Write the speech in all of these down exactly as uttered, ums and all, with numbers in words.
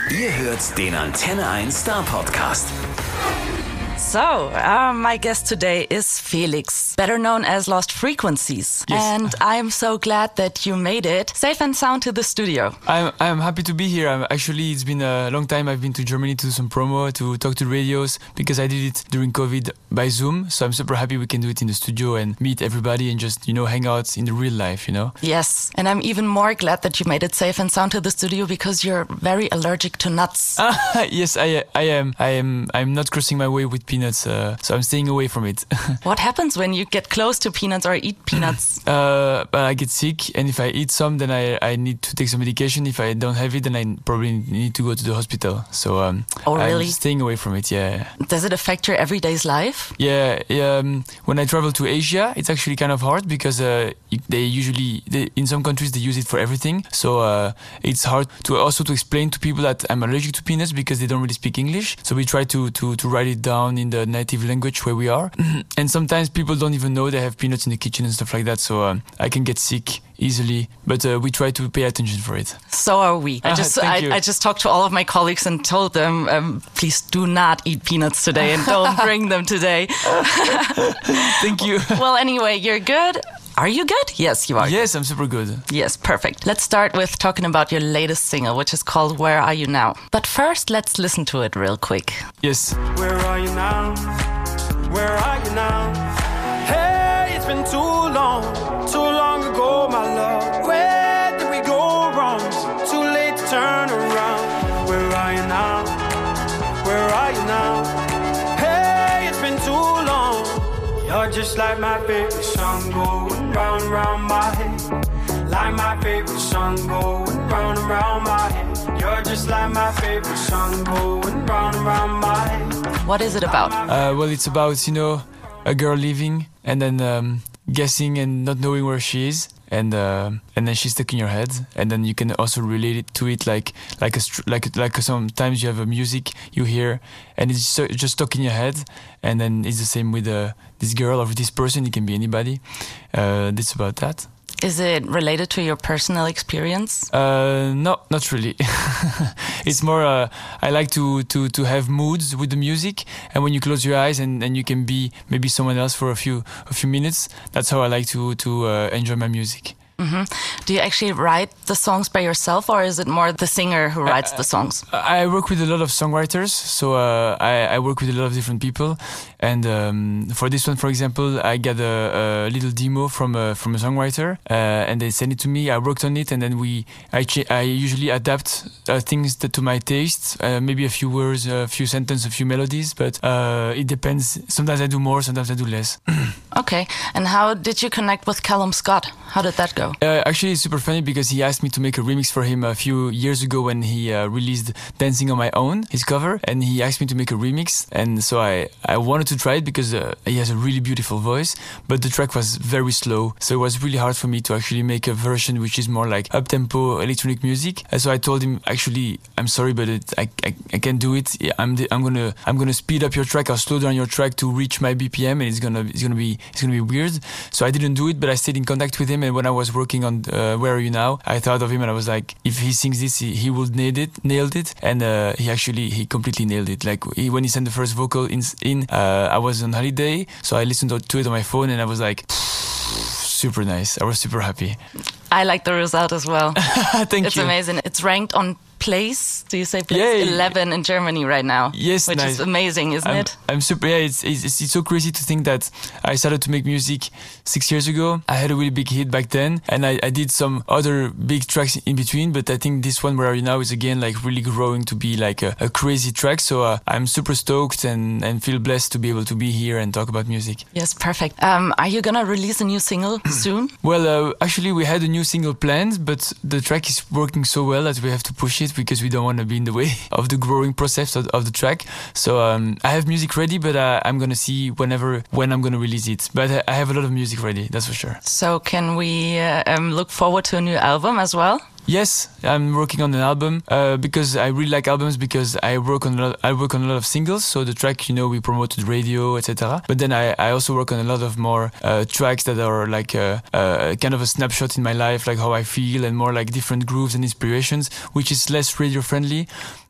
Ihr hört den Antenne eins Star Podcast. So, uh, my guest today is Felix, better known as Lost Frequencies. Yes. And I'm so glad that you made it safe and sound to the studio. I'm I'm happy to be here. I'm, actually, it's been a long time. I've been to Germany to do some promo, to talk to radios, because I did it during COVID by Zoom. So I'm super happy we can do it in the studio and meet everybody and just, you know, hang out in the real life, you know? Yes, and I'm even more glad that you made it safe and sound to the studio because you're very allergic to nuts. Ah, yes, I I am. I am. I'm not crossing my way with peanuts, uh, so I'm staying away from it. What happens when you get close to peanuts or eat peanuts? uh, I get sick, and if I eat some, then I, I need to take some medication. If I don't have it, then I probably need to go to the hospital. So um, Oh, really? I'm staying away from it. Yeah. Does it affect your everyday's life? Yeah, um, when I travel to Asia, it's actually kind of hard because uh, they usually, they, in some countries, they use it for everything. So uh, it's hard to also to explain to people that I'm allergic to peanuts because they don't really speak English. So we try to, to, to write it down in the native language where we are. And sometimes people don't even know they have peanuts in the kitchen and stuff like that. So um, I can get sick easily, but uh, we try to pay attention for it. So are we. I Ah, just thank I, you. I just talked to all of my colleagues and told them, um, please do not eat peanuts today and don't bring them today. Thank you. Well, anyway, you're good. Are you good? Yes, you are. Yes, I'm super good. Yes, perfect. Let's start with talking about your latest single, which is called Where Are You Now? But first, let's listen to it real quick. Yes. Where are you now? Where are you now? Hey, it's been too long, too long ago, my love. Where did we go wrong? Too late to turn around. Where are you now? Where are you now? Hey, it's been too long. You're just like my favorite song going round and round my head. Like my favorite song going round and round my head. You're just like my favorite song going round and round my head. What is it about? Uh, well, it's about, you know, a girl leaving and then um, guessing and not knowing where she is. And uh, and then she's stuck in your head, and then you can also relate it to it like like a str- like like sometimes you have a music you hear, and it's so, just stuck in your head, and then it's the same with uh, this girl or with this person. It can be anybody. Uh, it's about that. Is it related to your personal experience? Uh, no, not really. It's more, uh, I like to, to, to have moods with the music, and when you close your eyes and, and you can be maybe someone else for a few a few minutes, that's how I like to, to uh, enjoy my music. Mm-hmm. Do you actually write the songs by yourself, or is it more the singer who writes Uh, the songs? I work with a lot of songwriters, so uh, I, I work with a lot of different people. And um, for this one, for example, I got a, a little demo from a, from a songwriter, uh, and they sent it to me. I worked on it, and then we I, ch- I usually adapt uh, things that, to my taste, uh, maybe a few words, a few sentences, a few melodies, but uh, it depends. Sometimes I do more, sometimes I do less. Okay. And how did you connect with Callum Scott? How did that go? Uh, actually, it's super funny because he asked me to make a remix for him a few years ago when he uh, released Dancing on My Own, his cover, and he asked me to make a remix. And so I, I wanted to try it because uh, he has a really beautiful voice, but the track was very slow. So it was really hard for me to actually make a version which is more like up-tempo electronic music. And so I told him, actually, I'm sorry, but it, I, I, I can't do it. I'm the, I'm gonna I'm gonna speed up your track. I'll slow down your track to reach my B P M, and it's gonna it's gonna be it's gonna be weird. So I didn't do it, but I stayed in contact with him. And when I was working on uh, Where Are You Now, I thought of him and I was like, if he sings this, he, he would nail it, nailed it. And uh, he actually, he completely nailed it. Like he, when he sent the first vocal in, in uh, I was on holiday, so I listened to it on my phone and I was like, super nice. I was super happy. I like the result as well. Thank It's you. amazing. It's ranked on place. Do you say place? Yeah. eleven in Germany right now. Yes, Which nice. is amazing, isn't I'm, it? I'm super. Yeah, it's, it's it's so crazy to think that I started to make music six years ago. I had a really big hit back then, and I, I did some other big tracks in between. But I think this one, Where Are You Now, is again like really growing to be like a, a crazy track. So uh, I'm super stoked and and feel blessed to be able to be here and talk about music. Yes, perfect. Um, are you gonna release a new single soon? Well, uh, actually, we had a new single planned, but the track is working so well that we have to push it because we don't want to be in the way of the growing process of, of the track. So um, I have music ready, but uh, I'm gonna see whenever when I'm gonna release it. But I, I have a lot of music ready, that's for sure. So can we uh, um, look forward to a new album as well? Yes, I'm working on an album uh, because I really like albums because I work on a lot, I work on a lot of singles. So the track, you know, we promote to the radio, et cetera. But then I, I also work on a lot of more uh, tracks that are like a, a kind of a snapshot in my life, like how I feel and more like different grooves and inspirations, which is less radio friendly.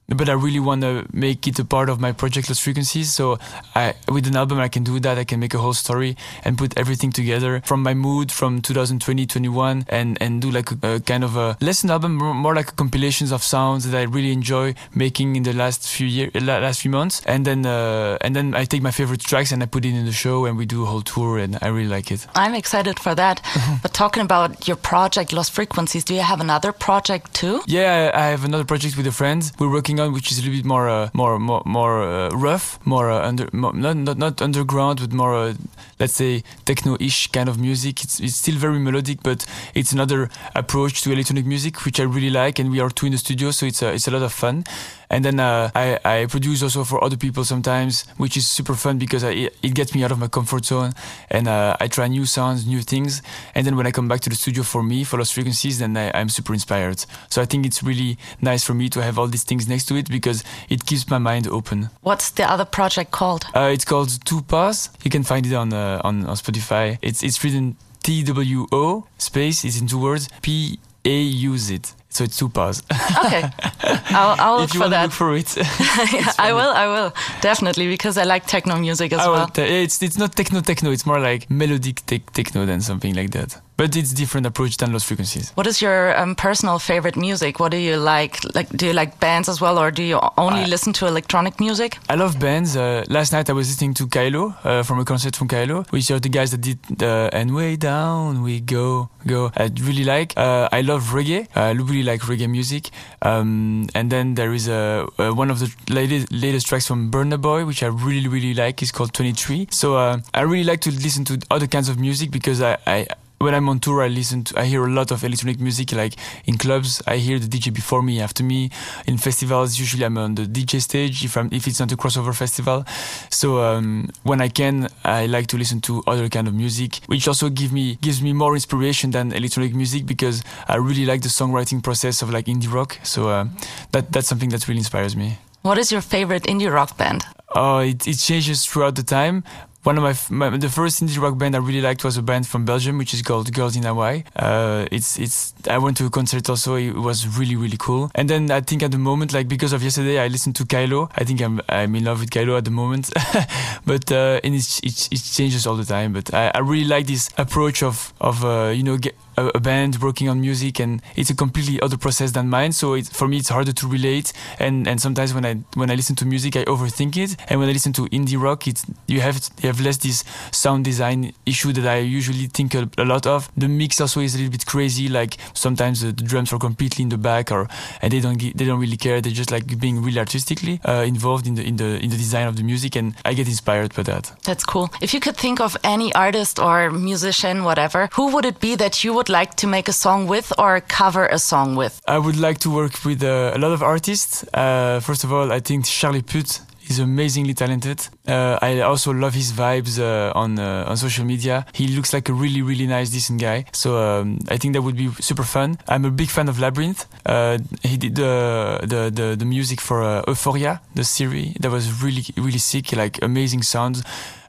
but I really want to make it a part of my project Lost Frequencies. So I, with an album, I can do that. I can make a whole story and put everything together from my mood from two thousand twenty, twenty-one and, and do like a, a kind of a lesson album, more like compilations of sounds that I really enjoy making in the last few years, last few months. And then, uh, and then I take my favorite tracks and I put it in the show and we do a whole tour and I really like it. I'm excited for that. But talking about your project Lost Frequencies, do you have another project too? Yeah, I have another project with a friend we're working on, which is a little bit more, uh, more, more, more uh, rough, more uh, under, more, not, not not underground, but more, uh, let's say, techno-ish kind of music. It's it's still very melodic, but it's another approach to electronic music, which I really like. And we are two in the studio, so it's a, it's a lot of fun. And then uh, I, I produce also for other people sometimes, which is super fun because I, it gets me out of my comfort zone and uh, I try new sounds, new things. And then when I come back to the studio for me, for Lost Frequencies, then I, I'm super inspired. So I think it's really nice for me to have all these things next to it because it keeps my mind open. What's the other project called? Uh, it's called Two Paws. You can find it on, uh, on, on Spotify. It's, it's written T W O space, it's in two words, P A U Z. So it's Two Paws. Okay, I'll, I'll look if you for want that. To look for it. Yeah, I will, I will definitely because I like techno music as I well. Te- it's it's not techno techno. It's more like melodic te- techno than something like that. But it's different approach than Lost Frequencies. What is your um, personal favorite music? What do you like? Like, do you like bands as well, or do you only I, listen to electronic music? I love bands. Uh, last night I was listening to Kylo uh, from a concert from Kylo, which are the guys that did the "And Way Down We Go Go." I really like. Uh, I love reggae. I really like reggae music. Um, and then there is a, a one of the latest, latest tracks from Burna Boy, which I really really like. It's called twenty-three. So uh, I really like to listen to other kinds of music because I. I When I'm on tour, I listen to, I hear a lot of electronic music, like in clubs. I hear the D J before me, after me. In festivals, usually I'm on the D J stage if I'm, if it's not a crossover festival. So, um, when I can, I like to listen to other kind of music, which also give me, gives me more inspiration than electronic music because I really like the songwriting process of like indie rock. So, uh, that, that's something that really inspires me. What is your favorite indie rock band? Oh, it, it changes throughout the time. One of my, my the first indie rock band I really liked was a band from Belgium, which is called Girls in Hawaii. Uh, it's it's I went to a concert also. It was really really cool. And then I think at the moment, like because of yesterday, I listened to Kylo. I think I'm I'm in love with Kylo at the moment. But uh, and it, it it changes all the time. But I, I really like this approach of of uh, you know get, a, a band working on music, and it's a completely other process than mine. So it, for me, it's harder to relate. And and sometimes when I when I listen to music, I overthink it. And when I listen to indie rock, it's you have you have less this sound design issue that I usually think a, a lot of. The mix also is a little bit crazy. Like sometimes the, the drums are completely in the back, or and they don't get, they don't really care. They just like being really artistically uh, involved in the in the in the design of the music, and I get inspired by that. That's cool. If you could think of any artist or musician, whatever, who would it be that you would like to make a song with or cover a song with? I would like to work with uh, a lot of artists. Uh, first of all, I think Charlie Puth is amazingly talented. Uh, I also love his vibes uh, on uh, on social media. He looks like a really, really nice, decent guy. So um, I think that would be super fun. I'm a big fan of Labyrinth. Uh, he did the the the, the music for uh, Euphoria, the series. That was really, really sick. Like amazing sounds.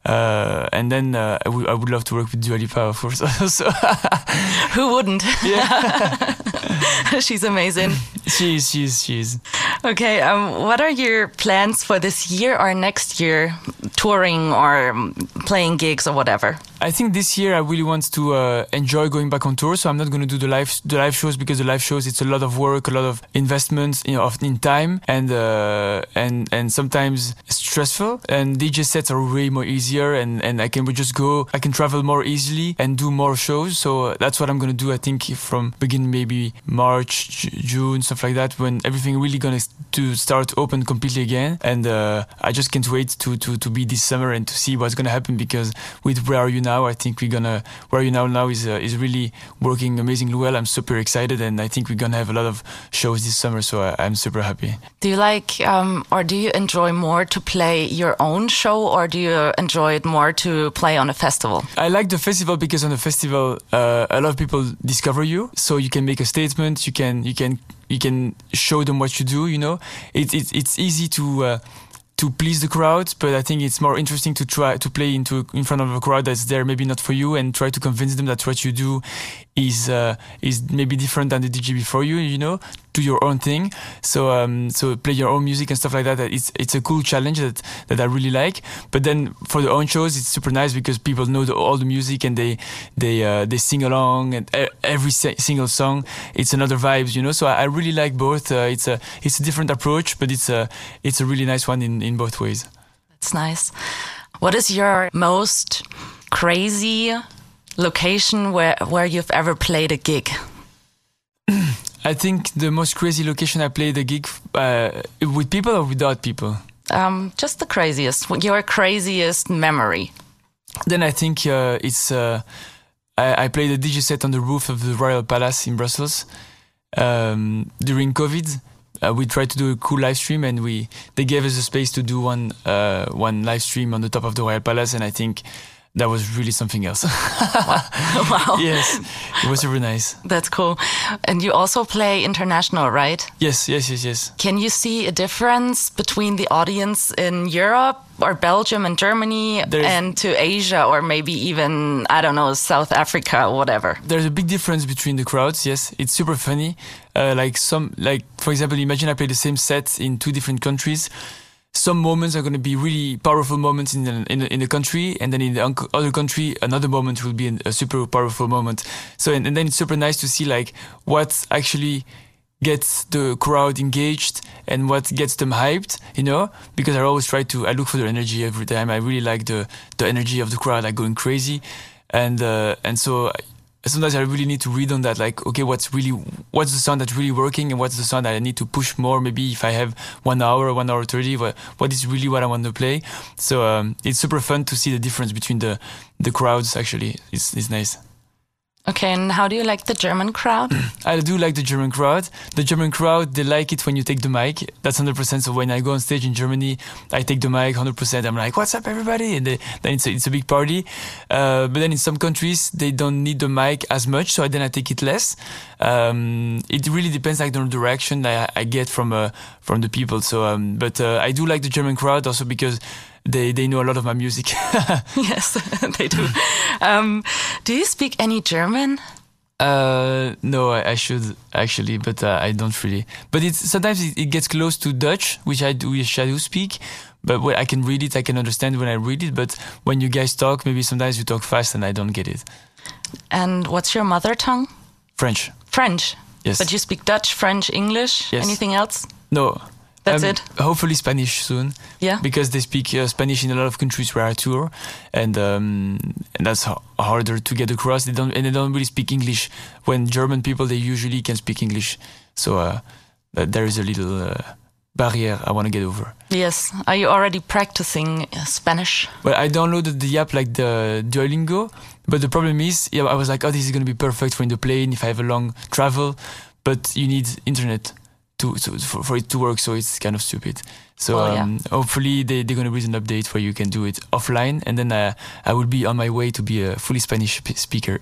Uh, and then uh, I, w- I would love to work with Dua Lipa, of course. So who wouldn't? Yeah. She's amazing. She is, she is, she is. Okay, um, what are your plans for this year or next year? Touring or playing gigs or whatever? I think this year I really want to uh, enjoy going back on tour. So I'm not going to do the live the live shows because the live shows it's a lot of work, a lot of investments, you know, of, in time, and uh, and and sometimes stressful. And D J sets are way more easier, and and I can just go, I can travel more easily and do more shows. So that's what I'm going to do. I think from beginning maybe March, J- June, stuff like that, when everything really going to start open completely again. And uh, I just can't wait to to to be this summer and to see what's going to happen, because with Where Are You Now, I think we're gonna Where Are You Now now is uh, is really working amazingly well. I'm super excited, and I think we're gonna have a lot of shows this summer, so I, I'm super happy. Do you like um, or do you enjoy more to play your own show, or do you enjoy it more to play on a festival? I like the festival because on the festival uh, a lot of people discover you, so you can make a statement, you can you can you can show them what you do, you know. It, it, it's easy to uh, to please the crowd, but I think it's more interesting to try to play into in front of a crowd that's there maybe not for you, and try to convince them that what you do is uh, is maybe different than the D J before you. You know, do your own thing. So um, so play your own music and stuff like that. It's it's a cool challenge that that I really like. But then for the own shows, it's super nice because people know the, all the music and they they uh, they sing along, and every se- single song it's another vibes. You know, so I, I really like both. Uh, it's a it's a different approach, but it's a it's a really nice one in, in both ways. That's nice. What is your most crazy location where where you've ever played a gig? I think the most crazy location I played a gig uh, with people or without people. Um, just the craziest. Your craziest memory. Then I think uh, it's. Uh, I, I played a D J set on the roof of the Royal Palace in Brussels um, during COVID. Uh, we tried to do a cool live stream, and we they gave us a space to do one uh, one live stream on the top of the Royal Palace, and I think that was really something else. Wow. Wow. Yes, it was super nice. That's cool. And you also play international, right? Yes, yes, yes, yes. Can you see a difference between the audience in Europe or Belgium and Germany There's, and to Asia or maybe even, I don't know, South Africa or whatever? There's a big difference between the crowds, yes. It's super funny. Uh, like some, like for example, imagine I play the same set in two different countries. Some moments are going to be really powerful moments in the, in the, in the country, and then in the other country, another moment will be a super powerful moment. So, and, and then it's super nice to see like what actually gets the crowd engaged and what gets them hyped, you know, because I always try to, I look for the energy every time. I really like the, the energy of the crowd, like going crazy. And, uh, and so sometimes I really need to read on that, like, okay, what's really, what's the sound that's really working and what's the sound that I need to push more? Maybe if I have one hour, one hour thirty, what, what is really what I want to play? So um, it's super fun to see the difference between the, the crowds, actually. It's, it's nice. Okay, and how do you like the German crowd? I do like the German crowd. The German crowd, they like it when you take the mic. That's one hundred percent. So when I go on stage in Germany, I take the mic one hundred percent. I'm like, what's up, everybody? And they, then it's a, it's a big party. Uh, but then in some countries, they don't need the mic as much. So then I take it less. Um, it really depends like on the reaction I, I get from uh, from the people. So, um, but uh, I do like the German crowd also because They they know a lot of my music. Yes, they do. Um, do you speak any German? Uh, no, I, I should actually, but uh, I don't really. But it's sometimes it, it gets close to Dutch, which I do, which I do speak. But when I can read it, I can understand when I read it. But when you guys talk, maybe sometimes you talk fast and I don't get it. And what's your mother tongue? French. French. Yes. But you speak Dutch, French, English. Yes. Anything else? No. That's um, it? Hopefully Spanish soon. Yeah. Because they speak uh, Spanish in a lot of countries where I tour, and um, and that's h- harder to get across. They don't and they don't really speak English. When German people, they usually can speak English. So uh, there is a little uh, barrier I want to get over. Yes. Are you already practicing Spanish? Well, I downloaded the app like the Duolingo, but the problem is, yeah, I was like, oh, this is going to be perfect for in the plane if I have a long travel, but you need internet. To, to, for, for it to work, so it's kind of stupid. So well, yeah. um, hopefully they, they're going to release an update where you can do it offline, and then uh, I will be on my way to be a fully Spanish p- speaker.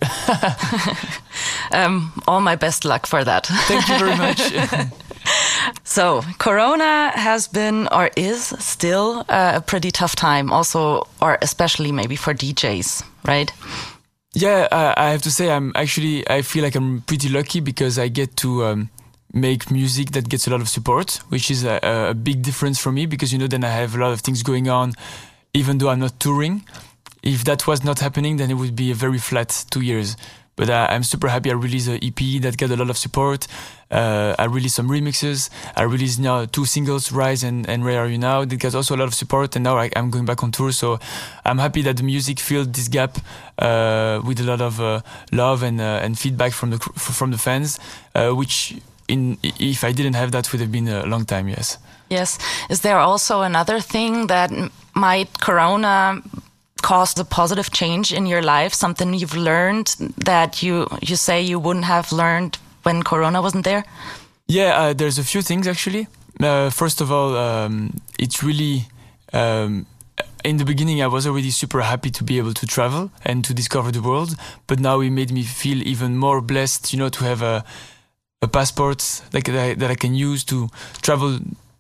um, all my best luck for that. Thank you very much. So Corona has been or is still uh, a pretty tough time, also, or especially maybe for D Js, right? Yeah, uh, I have to say I'm actually, I feel like I'm pretty lucky because I get to um, make music that gets a lot of support, which is a, a big difference for me because, you know, then I have a lot of things going on, even though I'm not touring. If that was not happening, then it would be a very flat two years. But uh, I'm super happy I released an E P that got a lot of support. Uh, I released some remixes. I released now two singles, Rise and, and Where Are You Now? That got also a lot of support. And now I, I'm going back on tour. So I'm happy that the music filled this gap uh, with a lot of uh, love and uh, and feedback from the from the fans, uh, which... In, if I didn't have that, would have been a long time, yes. Yes. Is there also another thing that might Corona cause a positive change in your life? Something you've learned that you, you say you wouldn't have learned when Corona wasn't there? Yeah, uh, there's a few things actually. Uh, first of all, um, it's really... Um, in the beginning, I was already super happy to be able to travel and to discover the world. But now it made me feel even more blessed, you know, to have a... a passport like that I, that I can use to travel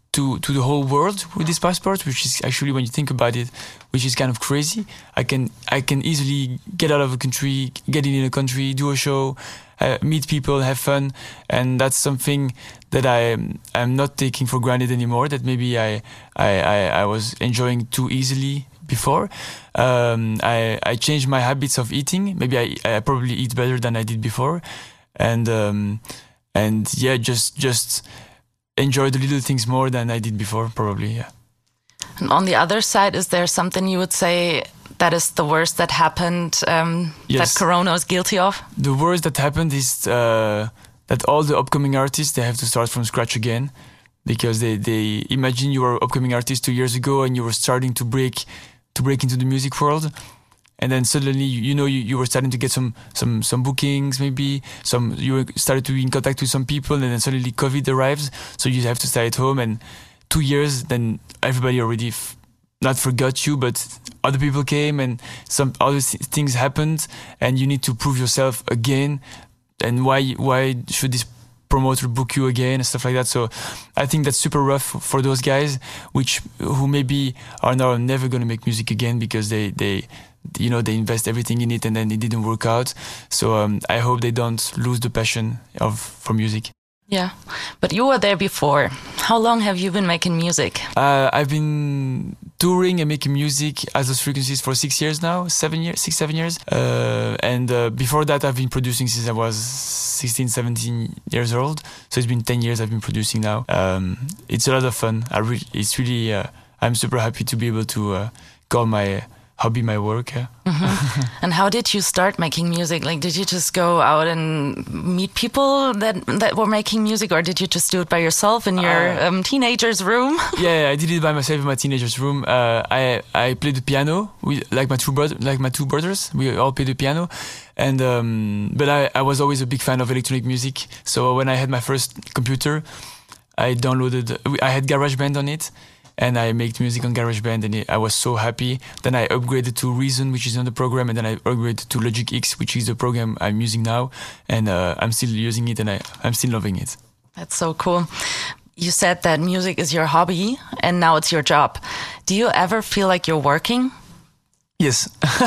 to to the whole world with this passport, which is actually, when you think about it, which is kind of crazy. I can I can easily get out of a country, get in a country, do a show, uh, meet people, have fun, and that's something that I I'm not taking for granted anymore. That maybe I I I, I was enjoying too easily before. Um, I I changed my habits of eating. Maybe I I probably eat better than I did before, and um, and yeah, just just. enjoy the little things more than I did before, probably, yeah. And on the other side, is there something you would say that is the worst that happened, um, yes. that Corona is guilty of? The worst that happened is uh, that all the upcoming artists, they have to start from scratch again, because they, they imagine you were an upcoming artist two years ago and you were starting to break to break into the music world. And then suddenly, you know, you, you were starting to get some, some, some bookings, maybe some, you were started to be in contact with some people, and then suddenly COVID arrives. So you have to stay at home, and two years, then everybody already f- not forgot you, but other people came and some other th- things happened, and you need to prove yourself again. And why, why should this promoter book you again and stuff like that? So I think that's super rough for those guys, which, who maybe are now never going to make music again because they, they, you know, they invest everything in it and then it didn't work out. So um, I hope they don't lose the passion of for music. Yeah, but you were there before. How long have you been making music? Uh, I've been touring and making music as those frequencies for six years now, seven years, six, seven years. Uh, and uh, before that, I've been producing since I was sixteen, seventeen years old. So it's been ten years I've been producing now. Um, it's a lot of fun. I really, it's really, uh, I'm super happy to be able to uh, call my hobby my work. Yeah. Mm-hmm. And how did you start making music? Like, did you just go out and meet people that that were making music, or did you just do it by yourself in your uh, um, teenager's room? Yeah, I did it by myself in my teenager's room. Uh, I I played the piano with like my two brother, like my two brothers. We all played the piano, and um, but I, I was always a big fan of electronic music. So when I had my first computer, I downloaded. I had GarageBand on it. And I made music on GarageBand, and I was so happy. Then I upgraded to Reason, which is another program, and then I upgraded to Logic X, which is the program I'm using now. And uh, I'm still using it, and I, I'm still loving it. That's so cool. You said that music is your hobby, and now it's your job. Do you ever feel like you're working? Yes.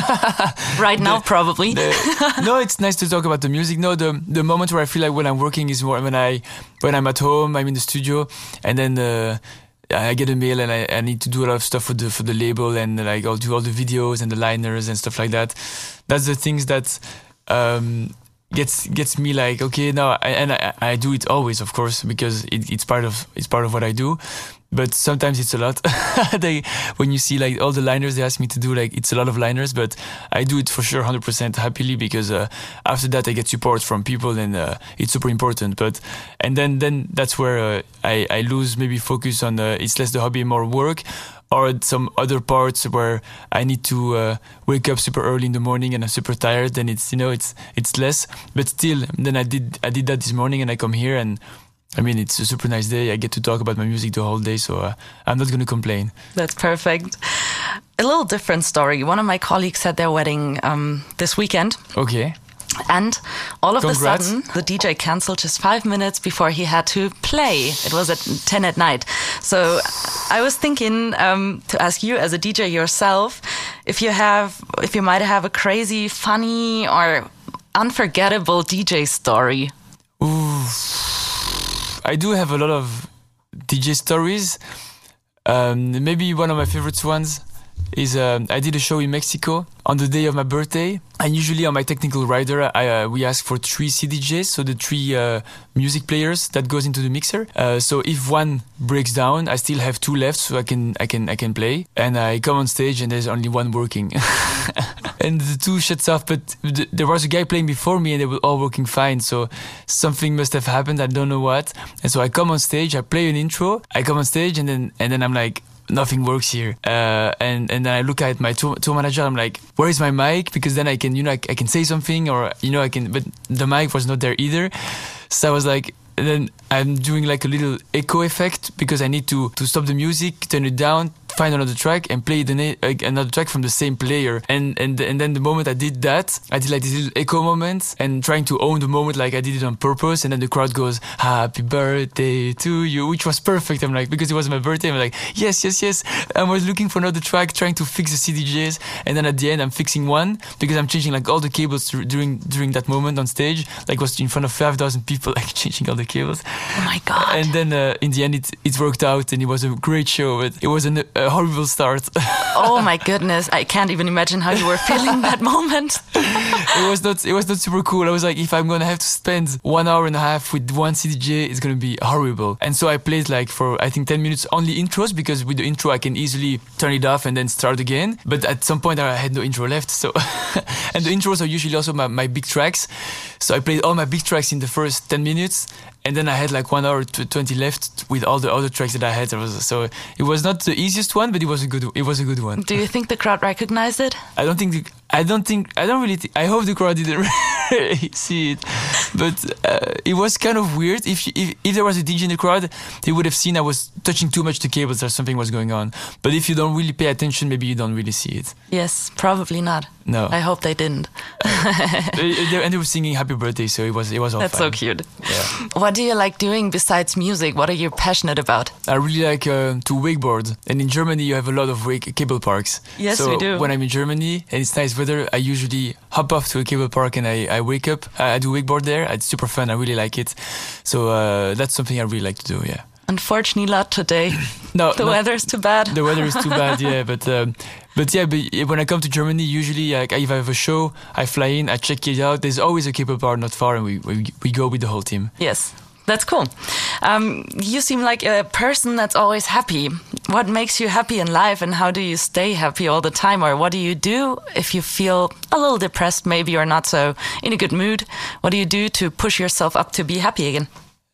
Right now, the, probably. The, no, it's nice to talk about the music. No, the the moment where I feel like when I'm working is more when I when I'm at home, I'm in the studio, and then uh, I get a mail and I, I need to do a lot of stuff for the for the label, and like I'll do all the videos and the liners and stuff like that. That's the things that um, gets gets me like, okay, now I, and I, I do it always, of course, because it, it's part of it's part of what I do. But sometimes it's a lot. they, when you see like all the liners they ask me to do, like it's a lot of liners, but I do it for sure one hundred percent happily, because uh, after that I get support from people, and uh, it's super important. But and then then that's where uh, I, I lose maybe focus on uh, it's less the hobby, more work, or some other parts where I need to uh, wake up super early in the morning and I'm super tired. Then it's, you know, it's it's less. But still, then I did I did that this morning, and I come here and I mean, it's a super nice day. I get to talk about my music the whole day, so uh, I'm not going to complain. That's perfect. A little different story. One of my colleagues had their wedding um, this weekend. Okay. And all of Congrats. a sudden, the D J canceled just five minutes before he had to play. It was at ten at night. So I was thinking um, to ask you, as a D J yourself, if you have, if you might have a crazy, funny, or unforgettable D J story. Ooh. I do have a lot of D J stories. Um, maybe one of my favorite ones is uh, I did a show in Mexico on the day of my birthday. And usually on my technical rider, I, uh, we ask for three C D Js, so the three uh, music players that goes into the mixer. Uh, so if one breaks down, I still have two left, so I can I can I can play. And I come on stage and there's only one working, and the two shuts off. But th- there was a guy playing before me, and they were all working fine. So something must have happened. I don't know what. And so I come on stage, I play an intro, I come on stage, and then and then I'm like, nothing works here. Uh, and, and then I look at my tour, tour manager, I'm like, where is my mic? Because then I can, you know, I, I can say something, or, you know, I can, but the mic was not there either. So I was like, and then I'm doing like a little echo effect, because I need to, to stop the music, turn it down, find another track and play the na- uh, another track from the same player. And and and then the moment I did that, I did like this little echo moment and trying to own the moment, like I did it on purpose. And then the crowd goes, "Happy birthday to you," which was perfect. I'm like, because it was my birthday, I'm like, yes, yes, yes. I was looking for another track, trying to fix the C D Js, and then at the end I'm fixing one because I'm changing like all the cables th- during during that moment on stage. Like was in front of five thousand people, like changing all the cables. Oh my God. And then uh, in the end it, it worked out and it was a great show, but it was an, a horrible start. Oh my goodness, I can't even imagine how you were feeling that moment. It was not it was not super cool. I was like, if I'm gonna have to spend one hour and a half with one C D J, it's gonna be horrible. And so I played like for I think ten minutes only intros, because with the intro I can easily turn it off and then start again. But at some point I had no intro left, so and the intros are usually also my, my big tracks. So I played all my big tracks in the first ten minutes. And then I had like one hour to twenty left with all the other tracks that I had. So it was not the easiest one, but it was a good. It was a good one. Do you think the crowd recognized it? I don't think. The, I don't think. I don't really. Th- I hope the crowd didn't really see it, but uh, it was kind of weird. If, if if there was a D J in the crowd, they would have seen I was touching too much the cables or something was going on. But if you don't really pay attention, maybe you don't really see it. Yes, probably not. No, I hope they didn't. they, and they were singing "Happy Birthday," so it was it was all That's fine. so cute. Yeah. What do you like doing besides music? What are you passionate about? I really like uh, to wakeboard, and in Germany you have a lot of wake cable parks. Yes, so we do. When I'm in Germany and it's nice weather, I usually hop off to a cable park and I, I wake up. I, I do wakeboard there. It's super fun. I really like it. So uh, that's something I really like to do. Yeah. Unfortunately, not today. No, the no, weather's too bad. The weather is too bad. Yeah, but um, but yeah, but when I come to Germany, usually like, if I have a show, I fly in, I check it out. There's always a cable park not far, and we we, we go with the whole team. Yes. That's cool. Um, you seem like a person that's always happy. What makes you happy in life, and how do you stay happy all the time? Or what do you do if you feel a little depressed, maybe, or not so in a good mood? What do you do to push yourself up to be happy again?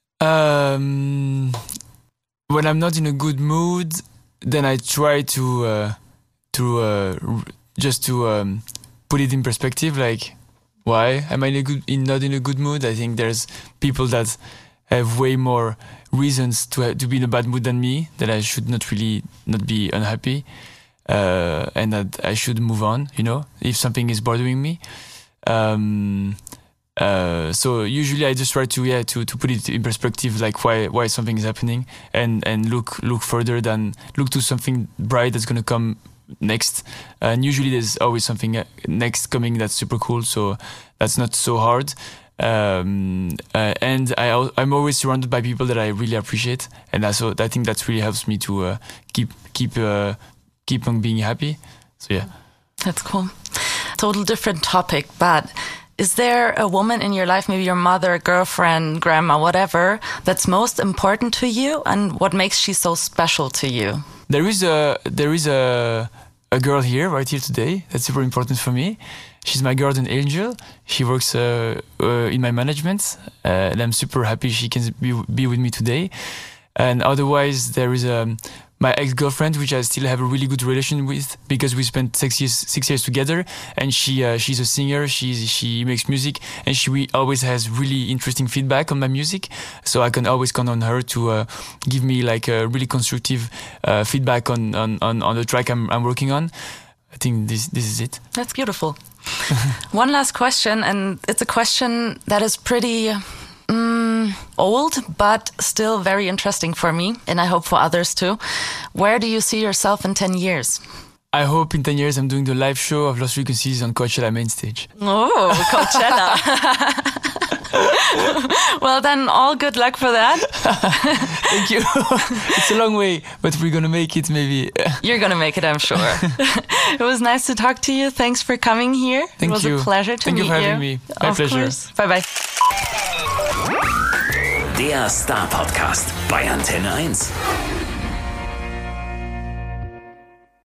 Um, when I'm not in a good mood, then I try to uh, to uh, just to um, put it in perspective. Like, why am I in a good, in, not in a good mood? I think there's people that have way more reasons to ha- to be in a bad mood than me, that I should not really not be unhappy, uh, and that I should move on, you know, if something is bothering me. Um, uh, so usually I just try to yeah to, to put it in perspective, like why why something is happening, and, and look look further than look to something bright that's gonna come next. And usually there's always something next coming that's super cool, so that's not so hard. Um, uh, and I, I'm always surrounded by people that I really appreciate, and I, so I think that really helps me to uh, keep keep uh, keep on being happy. So yeah, that's cool. Total different topic, but is there a woman in your life, maybe your mother, girlfriend, grandma, whatever, that's most important to you, and what makes she so special to you? There is a there is a a girl here right here today that's super important for me. She's my guardian angel. She works uh, uh, in my management, uh, and I'm super happy she can be, be with me today. And otherwise, there is um, my ex-girlfriend, which I still have a really good relation with because we spent six years six years together. And she uh, she's a singer. She's she makes music, and she re- always has really interesting feedback on my music. So I can always count on her to uh, give me like a really constructive uh, feedback on, on, on, on the track I'm I'm working on. I think this this is it. That's beautiful. One last question, and it's a question that is pretty um, old, but still very interesting for me, and I hope for others too. Where do you see yourself in ten years? I hope in ten years I'm doing the live show of Lost Frequencies on Coachella main stage. Oh, Coachella. Well, then, all good luck for that. Thank you. It's a long way, but we're going to make it maybe. You're going to make it, I'm sure. It was nice to talk to you. Thanks for coming here. Thank it was you. a pleasure to Thank meet you. Thank you for you. having me. My of pleasure. Course. Bye-bye. Der Star Podcast bei Antenne eins.